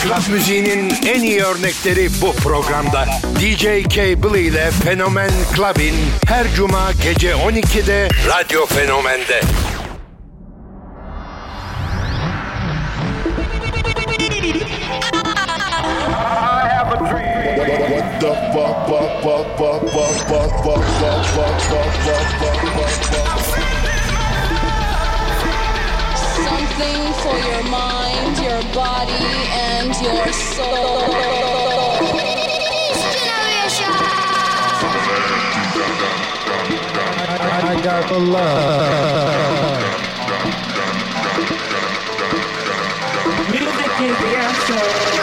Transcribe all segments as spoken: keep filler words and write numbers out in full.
Club müziğinin en iyi örnekleri bu programda. D J Cable ile Fenomen Club'in her cuma gece on ikide Radyo Fenomen'de. What the fuck, fuck, fuck, fuck, fuck, fuck, fuck, fuck, fuck, fuck, fuck, fuck, fuck. Something for your mind, your body, and your soul. I, I got the love. Music is the answer.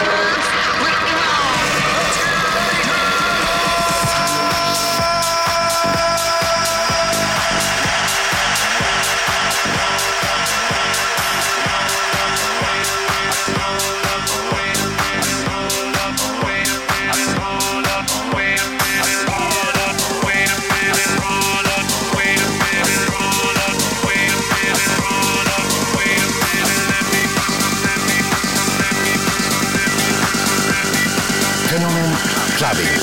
Fenomen Clubbing.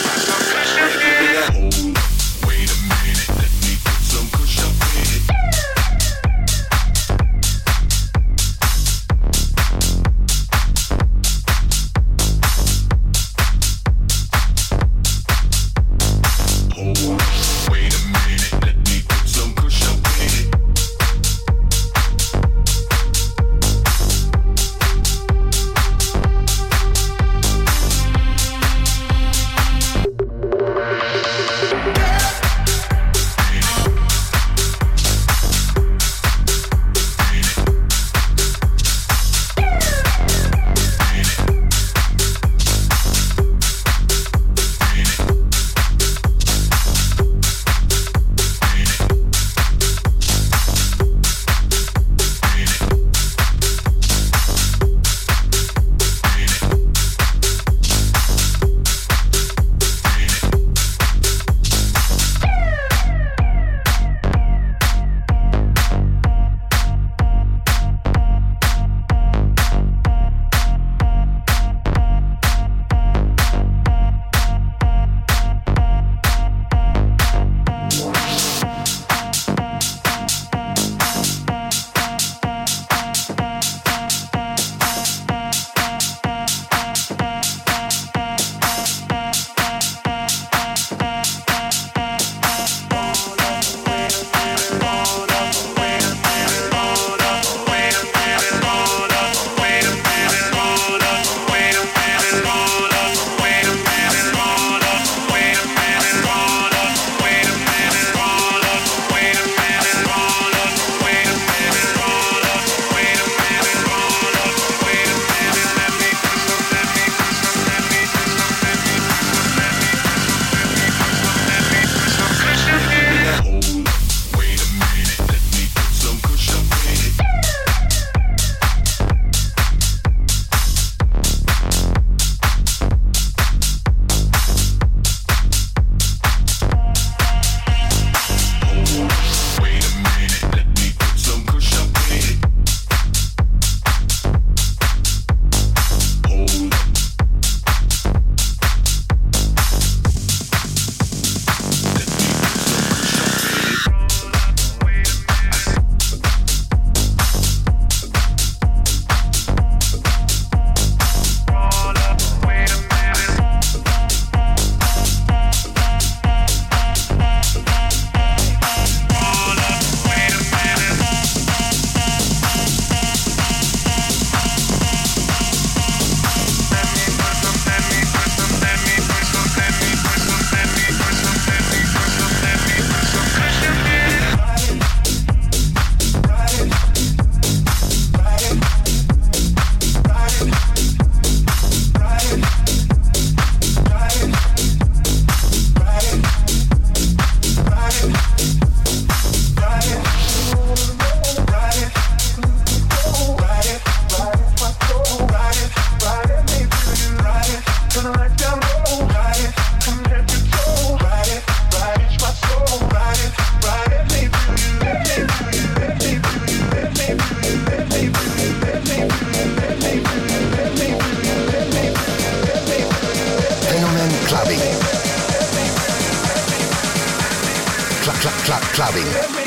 Clubbing.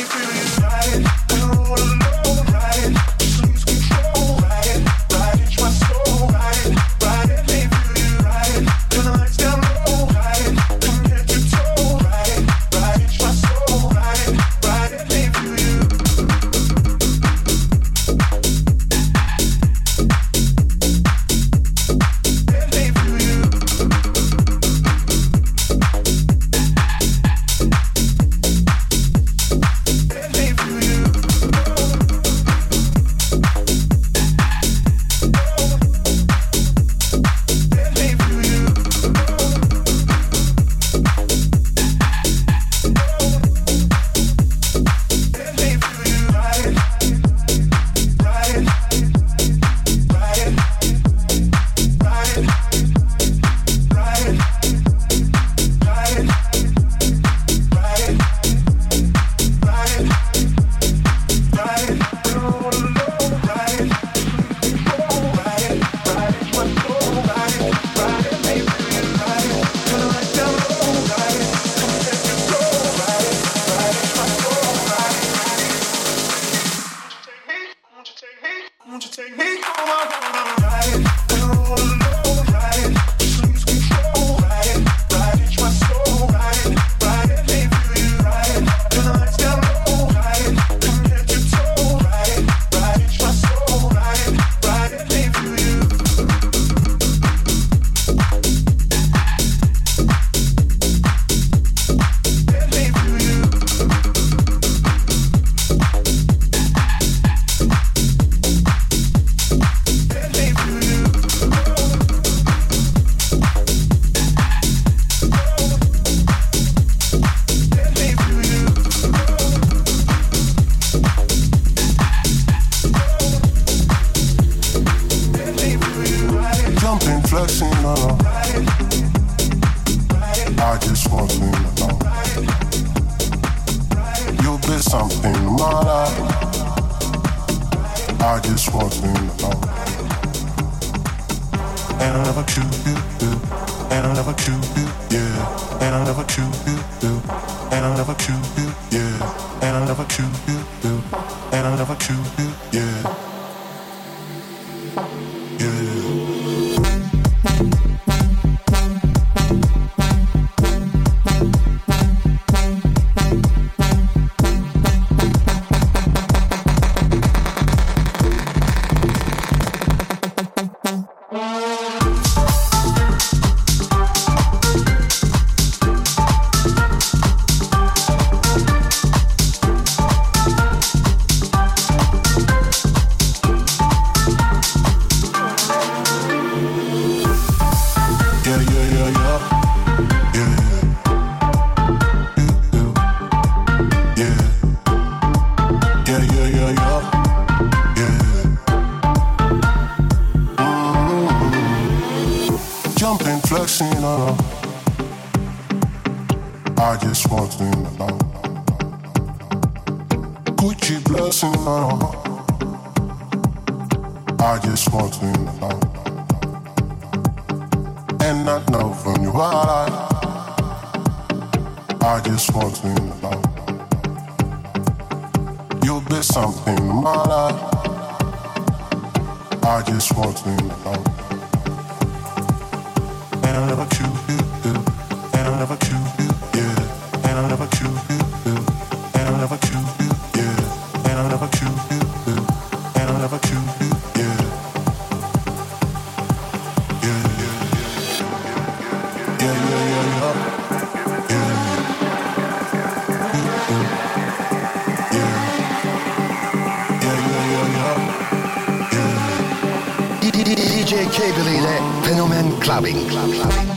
D J Cable ile Fenomen Clubbing. Clubbing.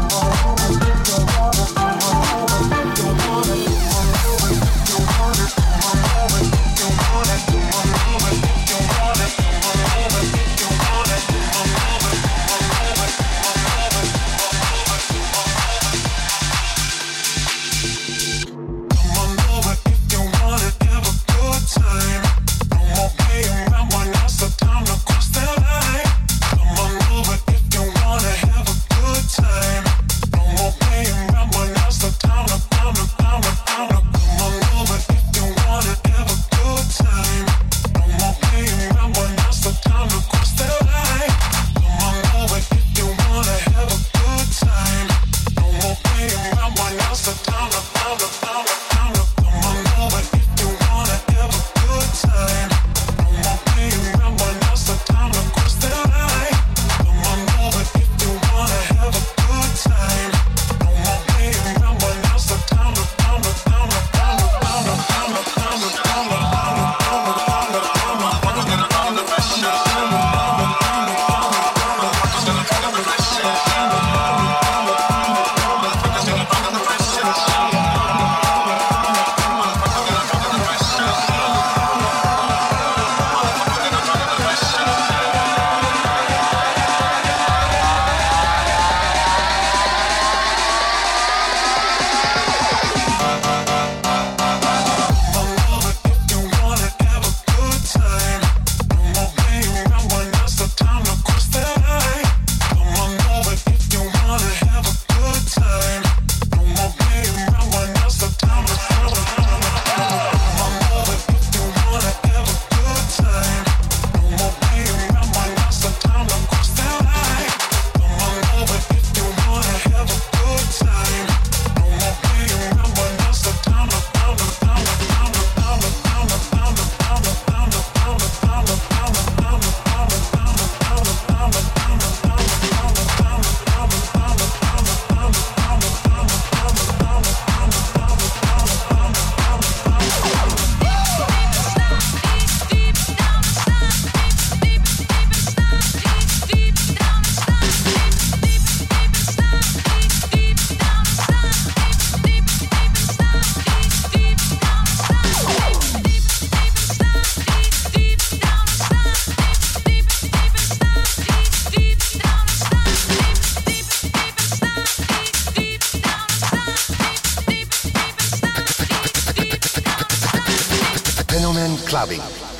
Clubbing.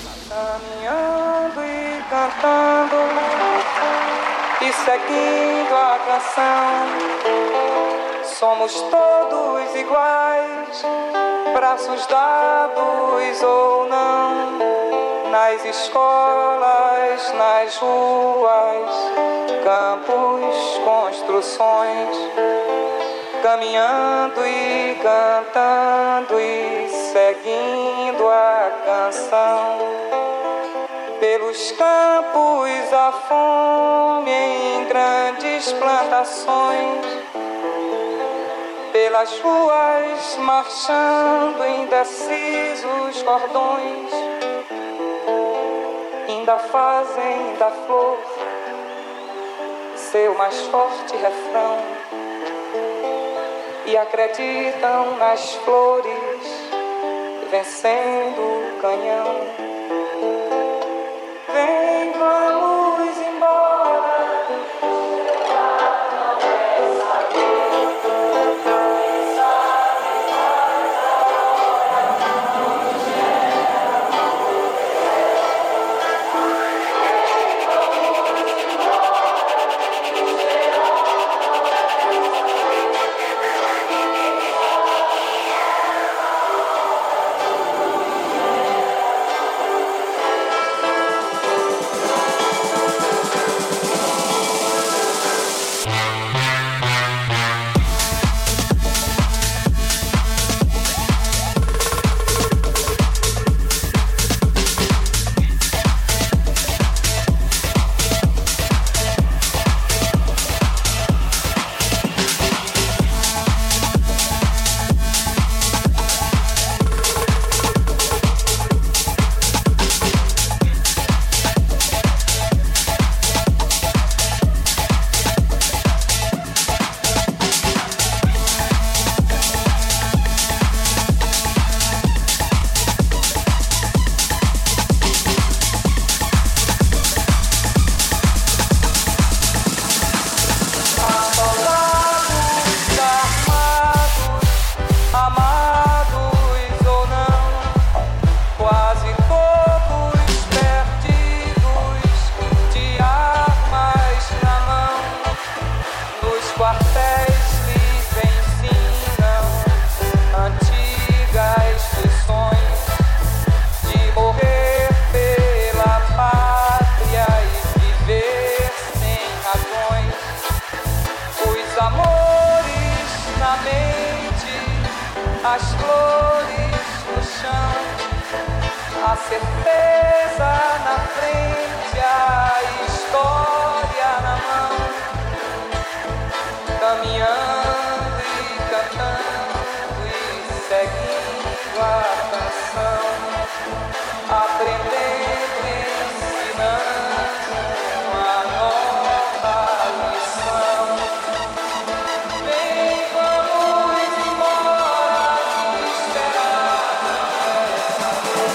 Caminhando e cantando e seguindo a canção, somos todos iguais, braços dados ou não, nas escolas, nas ruas, campos, construções, caminhando e cantando e seguindo a canção. Pelos campos a fome em grandes plantações, pelas ruas marchando indecisos cordões, ainda fazem da flor seu mais forte refrão e acreditam nas flores vencendo o canhão. Vem, vamos embora. as flores no chão, a certeza na frente, a história na mão, caminhando e cantando e seguindo a canção, aprendendo e ensinando uma nova lição. Vem, vamos embora, esperar essa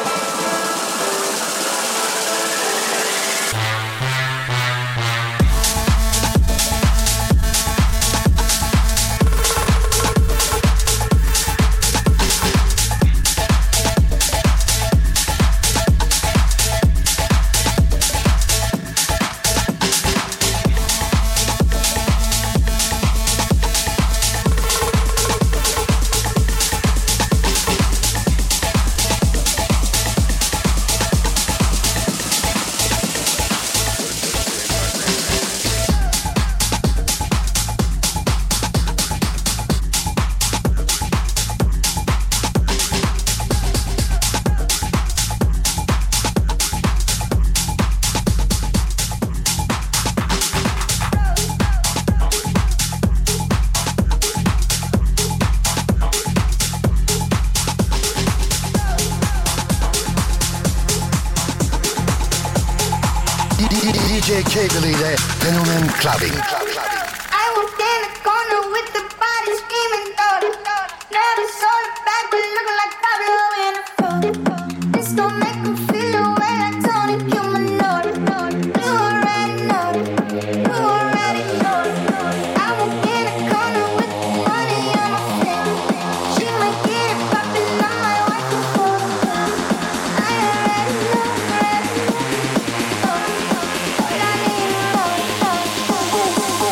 D J Cable ile Fenomen Clubbing. I walked in the corner with the body screaming, daughter. Never saw the back, but looking like Pablo in a photo. This don't make me feel the way I Tony Cumanoro. You already know it. You already know it. I walked in the corner with the money on my finger. She might get it poppin', I might wipe the floor. I already know, already know. All I need is love, love, love.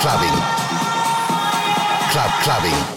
clubbing. Club clubbing.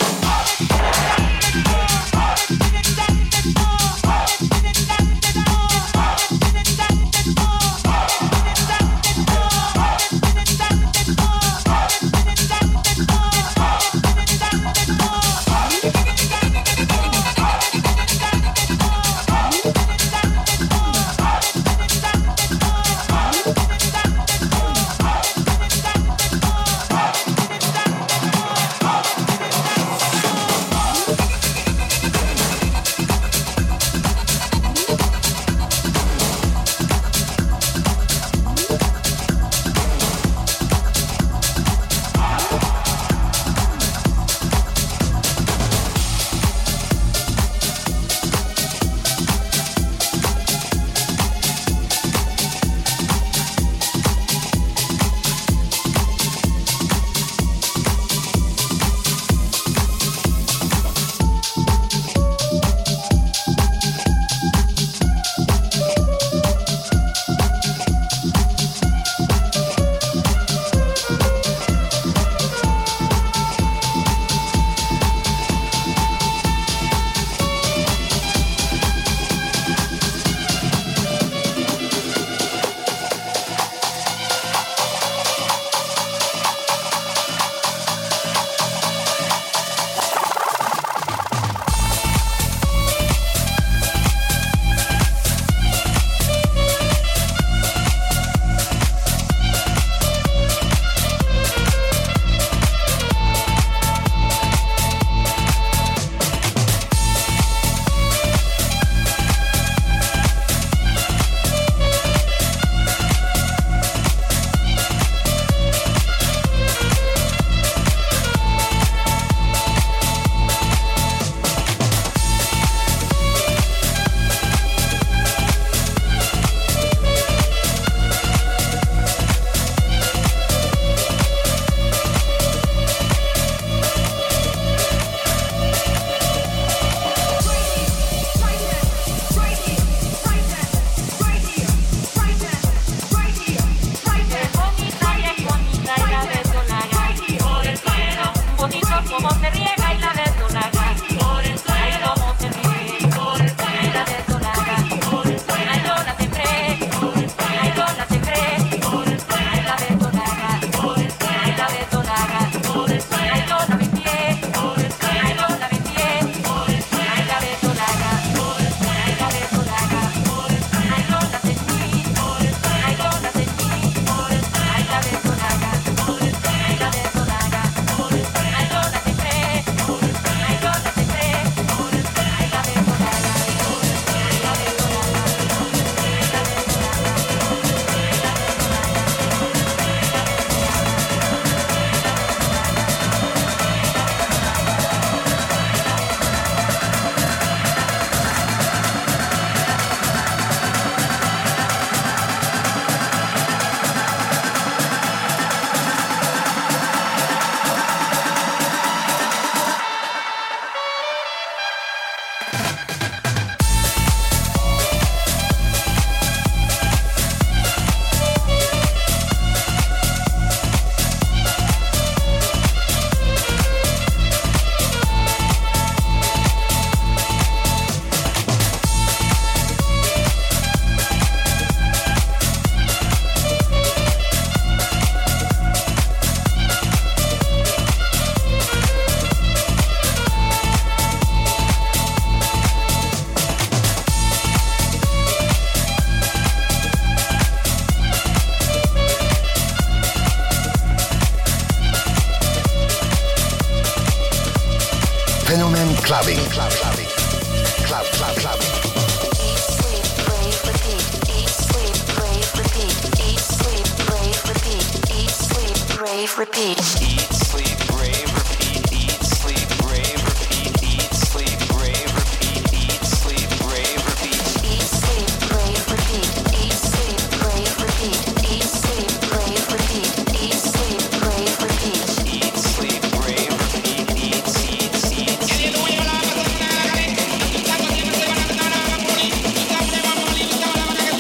Fenomen Clubbing. Club Clubbing. Club Club Clubbing. Eat, sleep, rave, repeat. Eat, sleep, rave, repeat. Eat, sleep, rave, repeat. Eat, sleep, rave, repeat. Eat, sleep, rave, repeat. Eat, sleep, rave, repeat. Eat, sleep, rave, repeat. Eat, sleep, rave, repeat. Eat, sleep, rave, repeat. Eat, sleep, rave, repeat. Eat, sleep, rave, repeat. Eat, sleep, rave, repeat. Eat, sleep, rave, repeat. Eat, eat, eat, eat.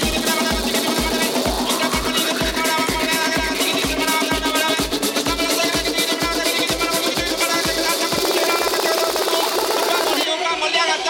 We'll be right back.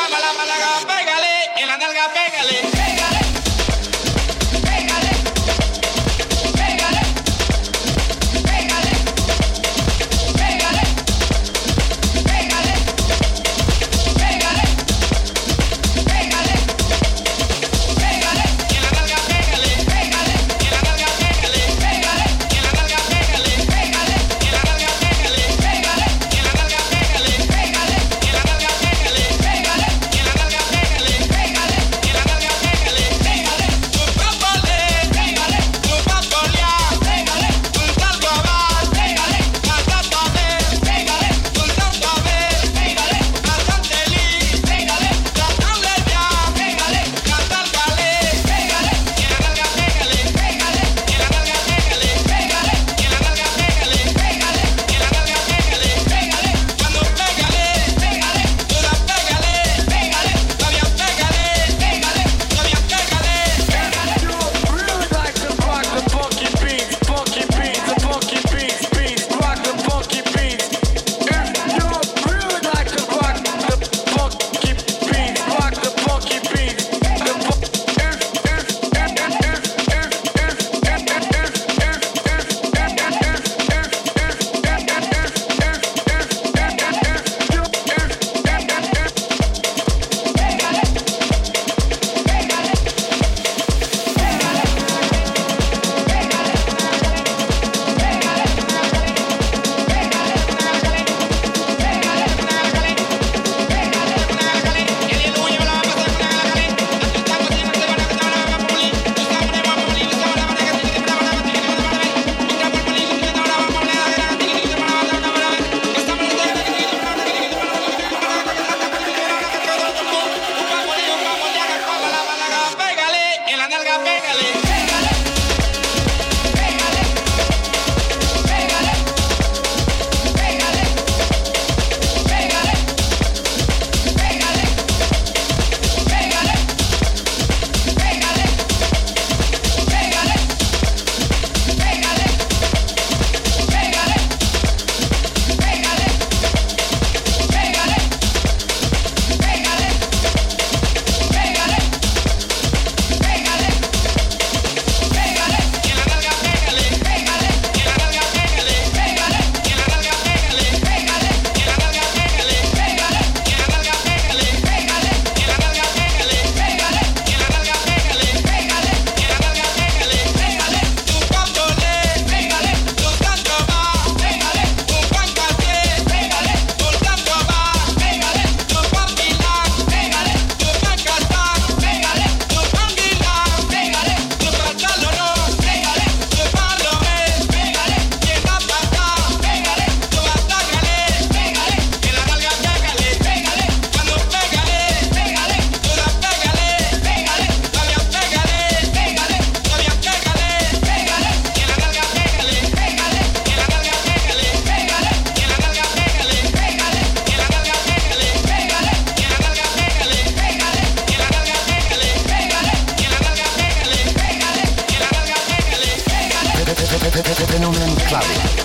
Fenomen Clubbing.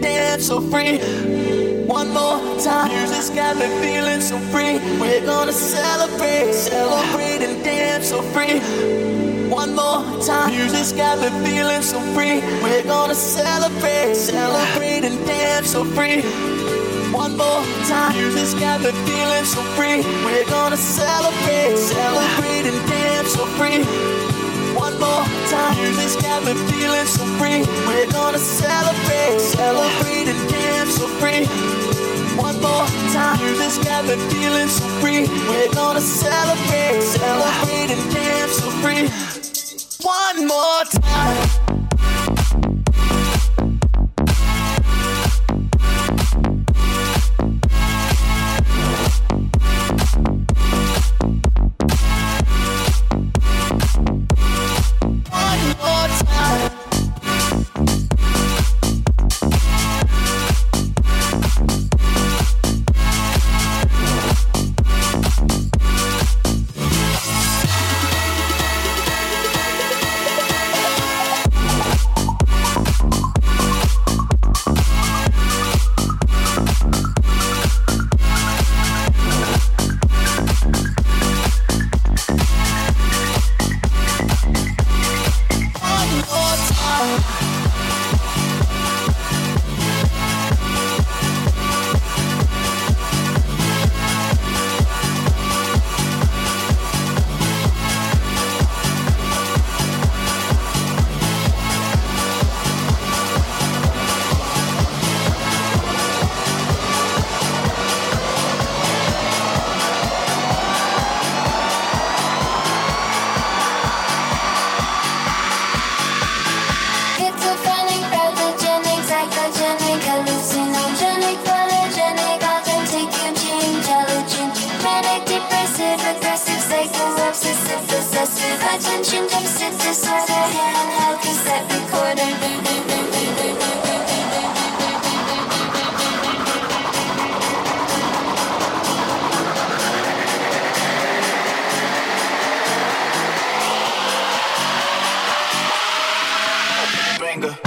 dance so free. One more time, music's got me feeling so free. We're gonna celebrate, celebrate and dance so free. One more time, music's got me feeling so free. We're gonna celebrate, celebrate and dance so free. One more time, music's got me feeling so free. We're gonna celebrate, celebrate and dance so free. One more time, music's got me feeling so free. We're gonna celebrate, celebrate and dance so free. One more time, music's got me feeling so free. We're gonna celebrate, celebrate and dance so free. One more time. Attention deficit disorder, handheld cassette recorder. Banger.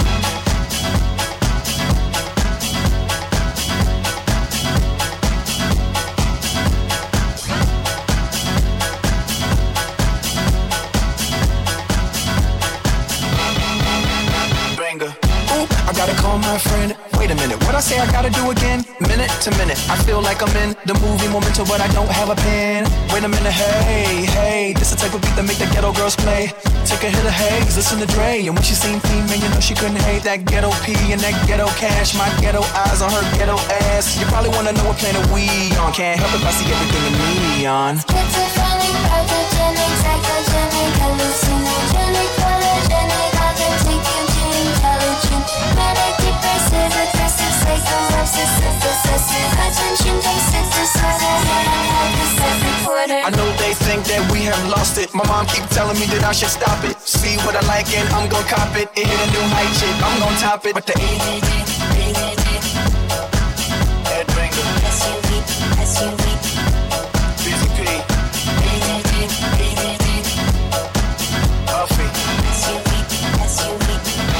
Gotta call my friend. Wait a minute, what I say I gotta do again? Minute to minute, I feel like I'm in the movie Memento, but I don't have a pen. Wait a minute, hey, hey, this the type of beat that make the ghetto girls play. Take a hit of haze, listen to Dre, and when she seen Theme, man, you know she couldn't hate that ghetto P and that ghetto cash. My ghetto eyes on her ghetto ass. You probably wanna know what planet we on. Can't help if I see everything in neon. Schizophrenic, pathogenic, psychogenic, hallucinogenic, polygenic, authentic, intelligent, manic, depressive, aggressive, psycho, obsessive, possessive, attention deficit disorder, handheld cassette recorder. I know they think that we have lost it. My mom keep telling me that I should stop it. See what I like and I'm gon' cop it. It hit a new height, shit, I'm gon' top it. But the A D D, A D D, Headbanger, S U V, S U V, Busy P, A D D, A D D, Puffy, S U V, S U V,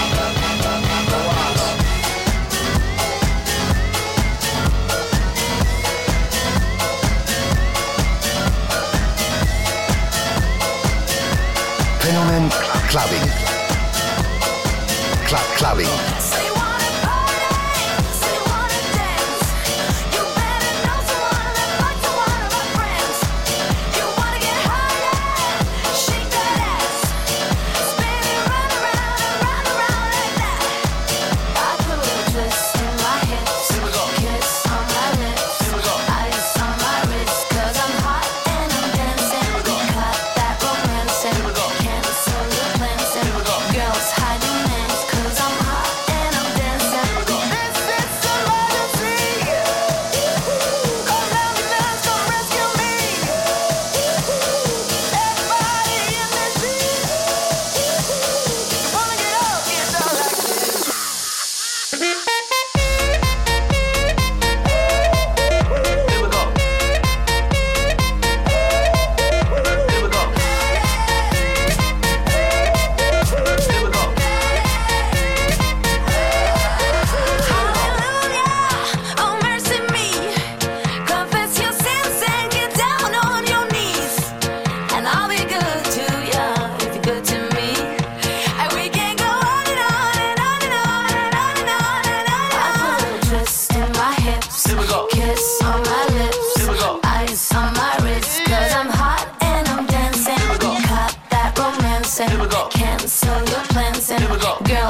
Fenomen Clubbing. Club Clubbing. Girls hiding names 'cause I'm hot.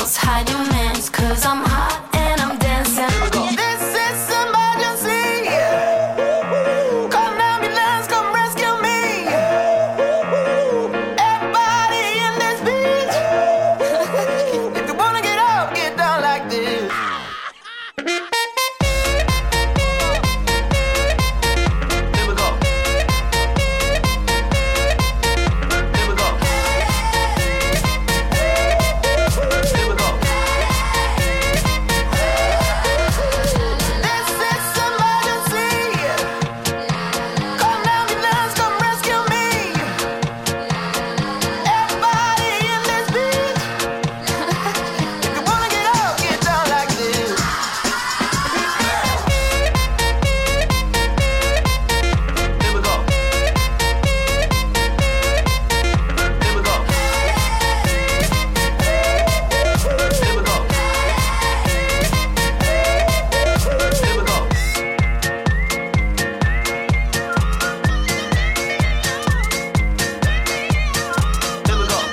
girls, hide your mans, cause I'm hot and I'm dancing. This is emergency. Call an ambulance, come rescue me. Everybody in this beach. If you wanna get up, get down like this. Here we go. Here we go. Here we go. This is emergency. Call an ambulance, come rescue me. Everybody in this beach. If you wanna get up, get down like this. Here we go. Here we go. Here we go. Here we go. Here we go.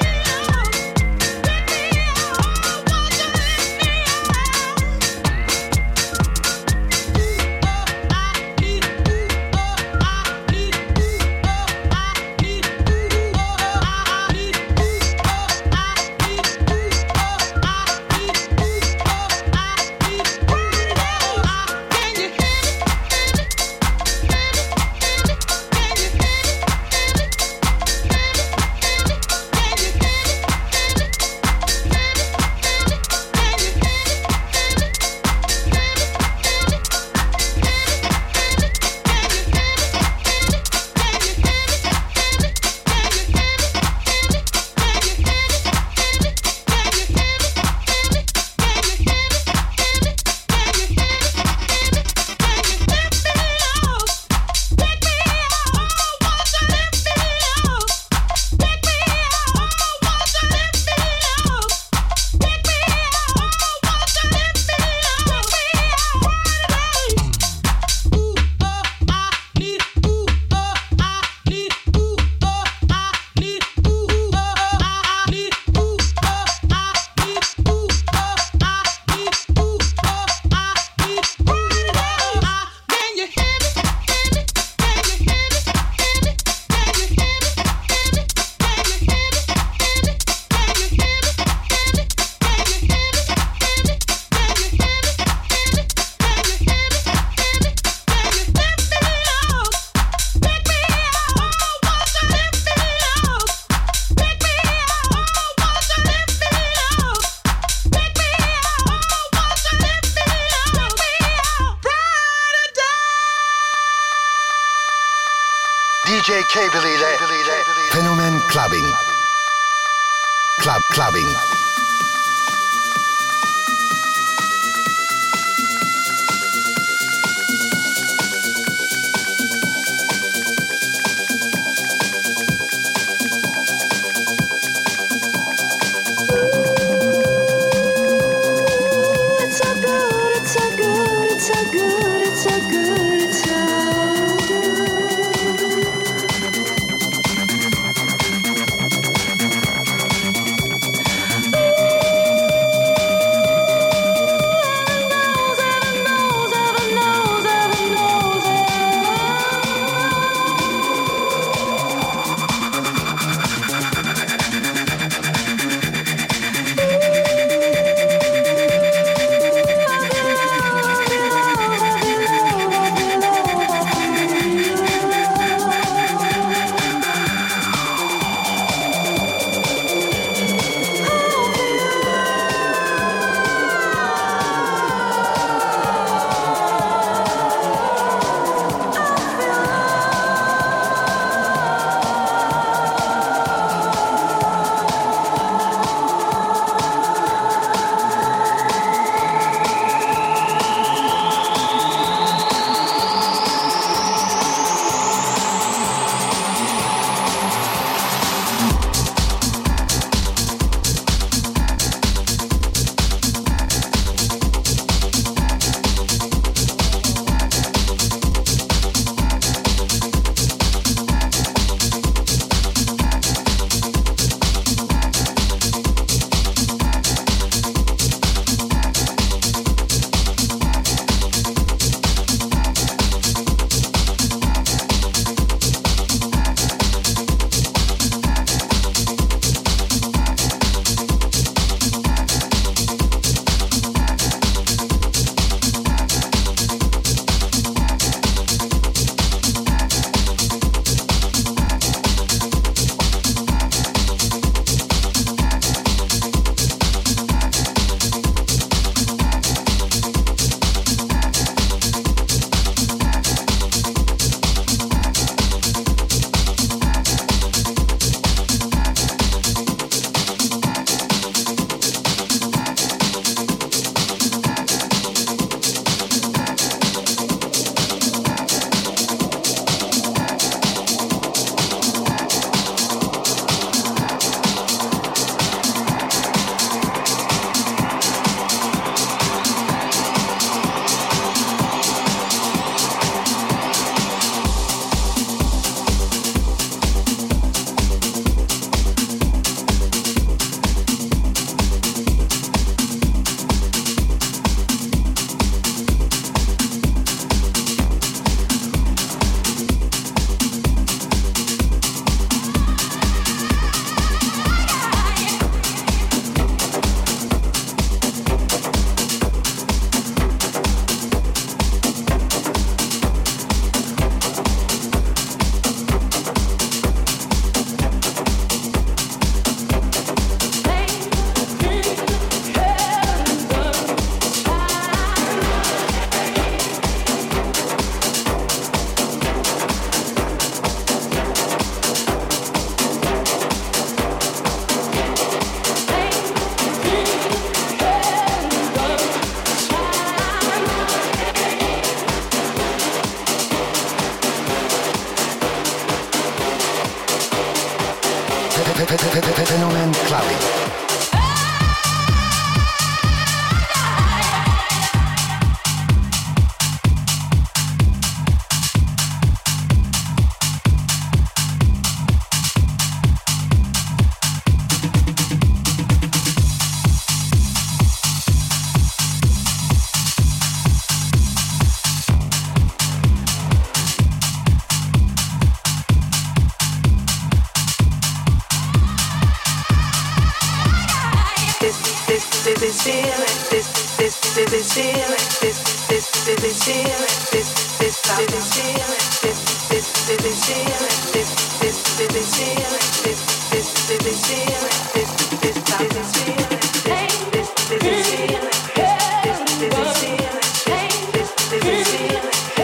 D J Cable ile Fenomen Clubbing. Club Clubbing. It's so good, it's so good, it's so good, it's so good, it's so good. Fenomen Clubbing. this feeling, this this this this feeling, this this this this feeling, this this this feeling, this this this this feeling, this this this this feeling, this this this this feeling, this this this this feeling, this this this feeling, this this this this feeling, this this this feeling, this this this feeling.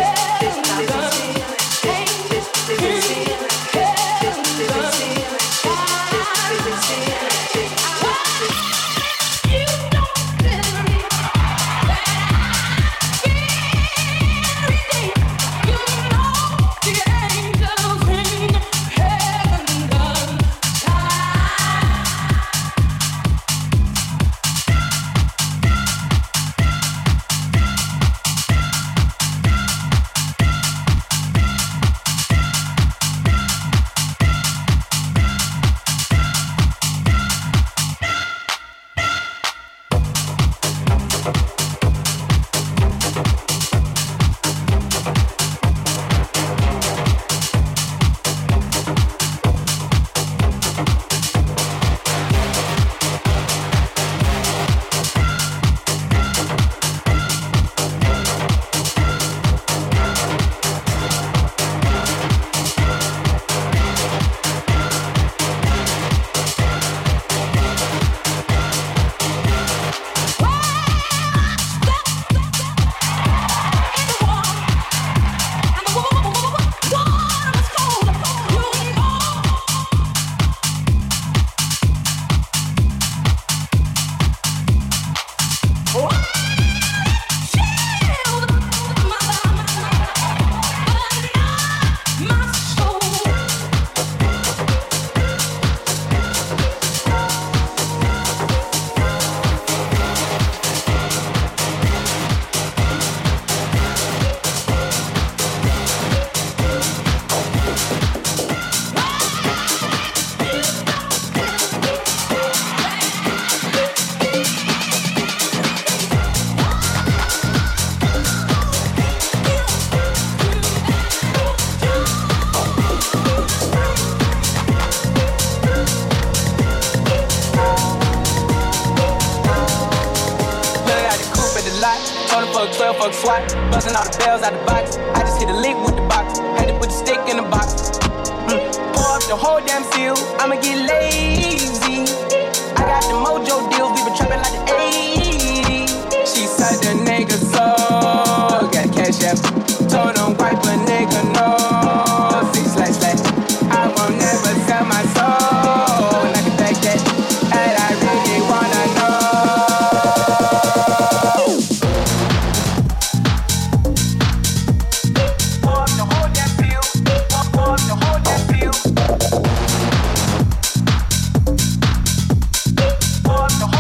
Busting all the bells out the box. I just hit a lick with the box. Had to put the stick in the box. Mm. Pour up the whole damn seal. I'ma get lazy. I got the mojo deals. We been trapping like the eighties. She said the nigga so got cash out. Told him wipe a nigga no. Six slash slash. I won't never sell my soul like a back that. And I really wanna know. The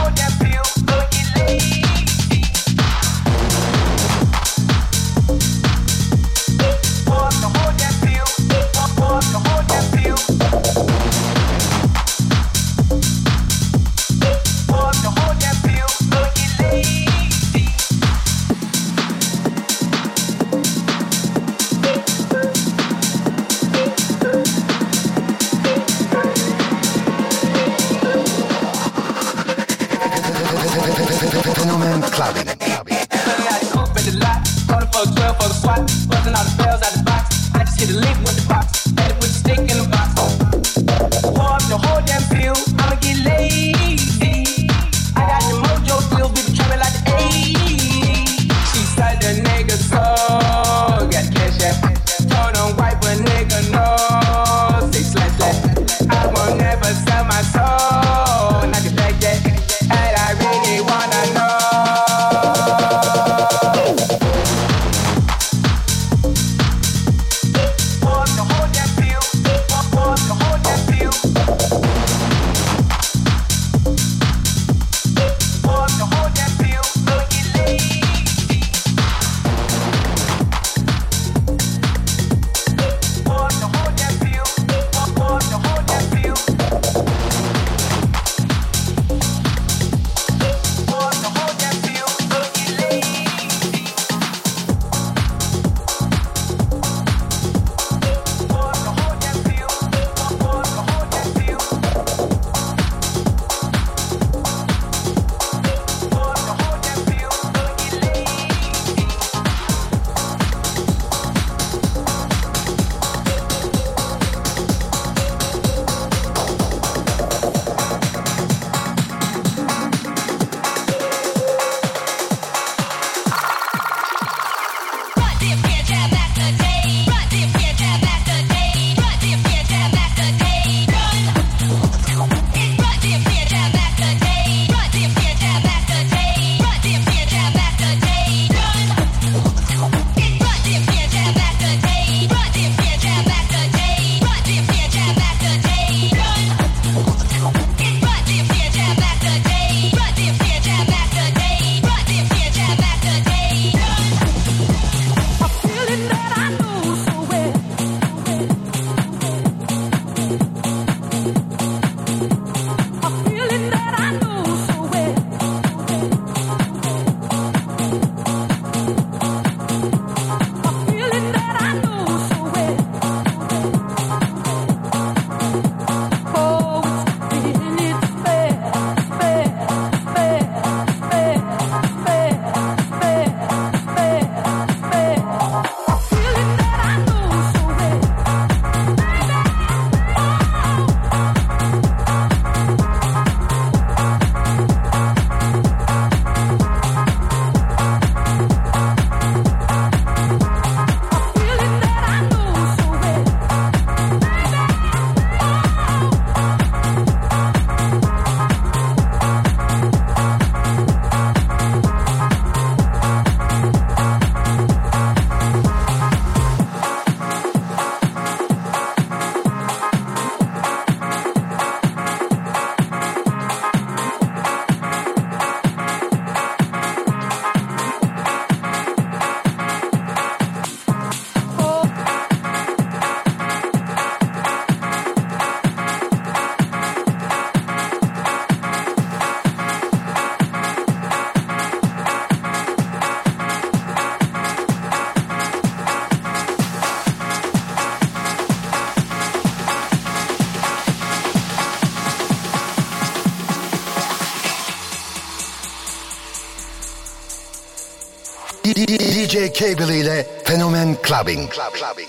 D J Cable ile Fenomen Clubbing. Clubbing.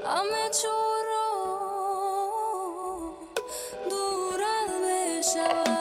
Show